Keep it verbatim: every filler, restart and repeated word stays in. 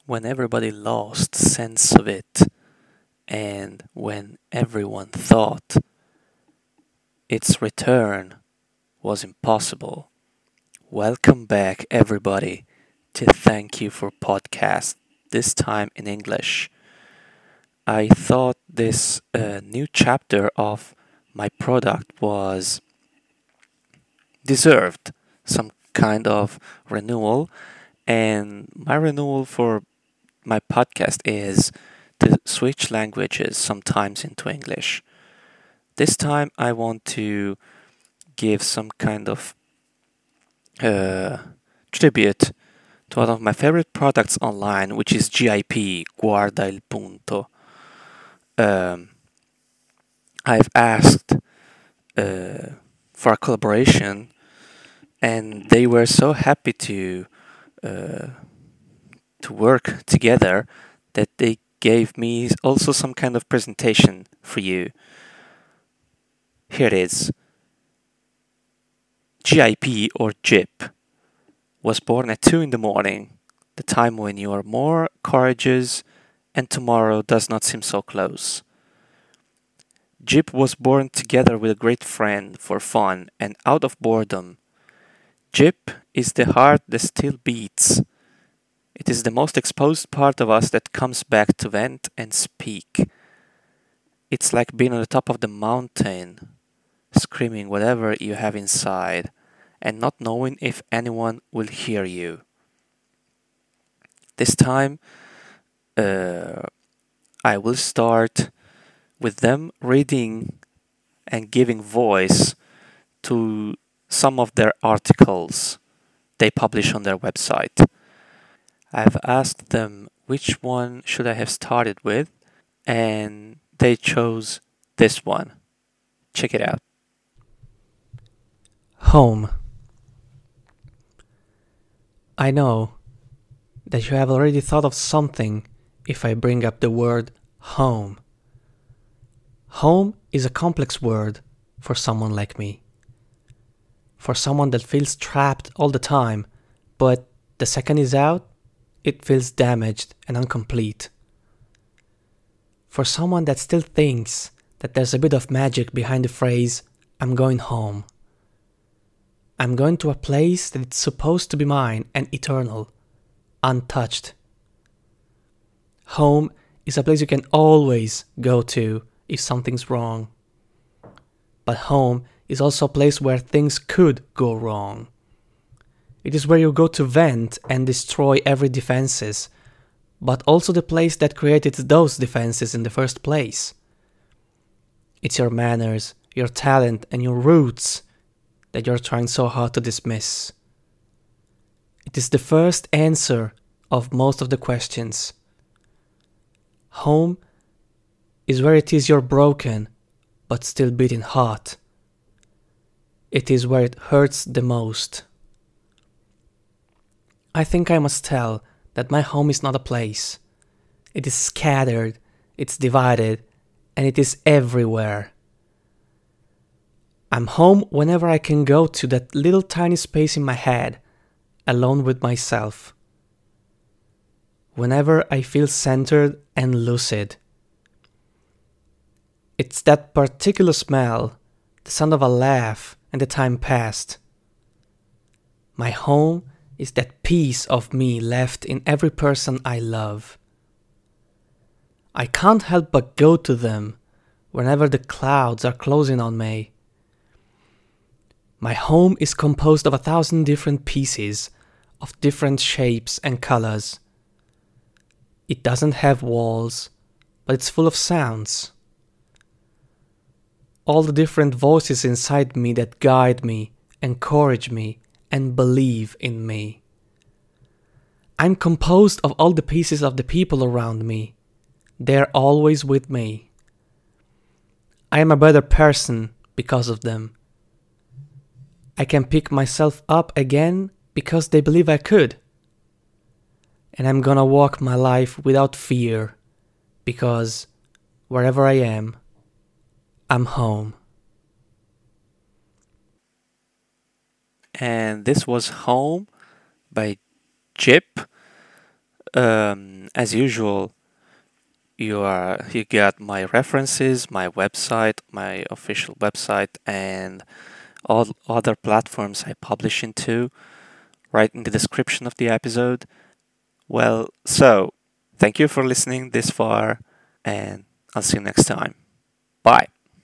when everybody lost sense of it and when everyone thought its return was impossible. Welcome back, everybody, to Thank You for Podcast, this time in English. I thought this uh, new chapter of my product was deserved some kind of renewal, and my renewal for my podcast is to switch languages sometimes into English. This time I want to give some kind of uh, tribute to one of my favorite products online, which is G I P, Guarda il Punto. Um, I've asked uh, for a collaboration, and they were so happy to uh, to work together that they gave me also some kind of presentation for you. Here it is. G I P or J I P was born at two in the morning, the time when you are more courageous and tomorrow does not seem so close. J I P was born together with a great friend for fun and out of boredom. J I P is the heart that still beats. It is the most exposed part of us that comes back to vent and speak. It's like being on the top of the mountain, screaming whatever you have inside, and not knowing if anyone will hear you. This time, uh, I will start with them reading and giving voice to some of their articles they publish on their website. I've asked them which one should I have started with, and they chose this one. Check it out. Home. I know that you have already thought of something if I bring up the word home. Home is a complex word for someone like me. For someone that feels trapped all the time, but the second is out, it feels damaged and incomplete. For someone that still thinks that there's a bit of magic behind the phrase, I'm going home. I'm going to a place that it's supposed to be mine and eternal, untouched. Home is a place you can always go to if something's wrong. But home is also a place where things could go wrong. It is where you go to vent and destroy every defenses, but also the place that created those defenses in the first place. It's your manners, your talent, and your roots that you're trying so hard to dismiss. It is the first answer of most of the questions. Home is where it is you're broken, but still beating heart. It is where it hurts the most. I think I must tell that my home is not a place. It is scattered, it's divided, and it is everywhere. I'm home whenever I can go to that little tiny space in my head, alone with myself. Whenever I feel centered and lucid. It's that particular smell, the sound of a laugh, and the time passed. My home is that piece of me left in every person I love. I can't help but go to them whenever the clouds are closing on me. My home is composed of a thousand different pieces, of different shapes and colors. It doesn't have walls, but it's full of sounds. All the different voices inside me that guide me, encourage me, and believe in me. I'm composed of all the pieces of the people around me. They're always with me. I am a better person because of them. I can pick myself up again because they believe I could. And I'm gonna walk my life without fear because wherever I am, I'm home. And this was Home by J I P. Um, as usual, you are you got my references, my website, my official website, and all other platforms I publish into right in the description of the episode. Well, so thank you for listening this far, and I'll see you next time. Bye.